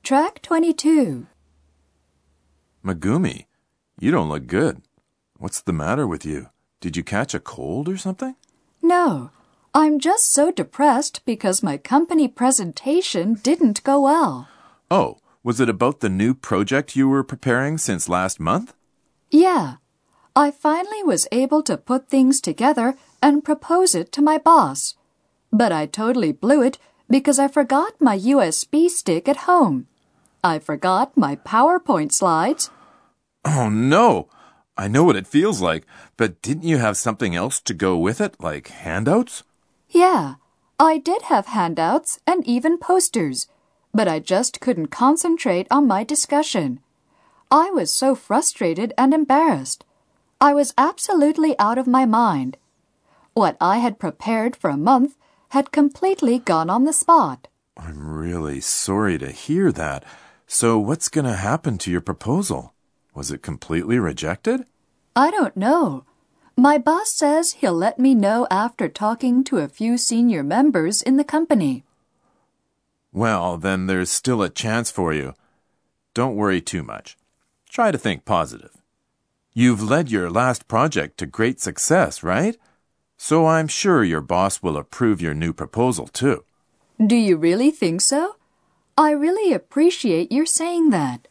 Track 22. Megumi, you don't look good. What's the matter with you? Did you catch a cold or something? No, I'm just so depressed because my company presentation didn't go well. Oh, was it about the new project you were preparing since last month? Yeah, I finally was able to put things together and propose it to my boss. But I totally blew it because I forgot my USB stick at home. I forgot my PowerPoint slides. Oh, no! I know what it feels like, but didn't you have something else to go with it, like handouts? Yeah, I did have handouts and even posters, but I just couldn't concentrate on my discussion. I was so frustrated and embarrassed. I was absolutely out of my mind. What I had prepared for a month had completely gone on the spot. I'm really sorry to hear that. So what's going to happen to your proposal? Was it completely rejected? I don't know. My boss says he'll let me know after talking to a few senior members in the company. Well, then there's still a chance for you. Don't worry too much. Try to think positive. You've led your last project to great success, right? So I'm sure your boss will approve your new proposal too. Do you really think so? I really appreciate your saying that.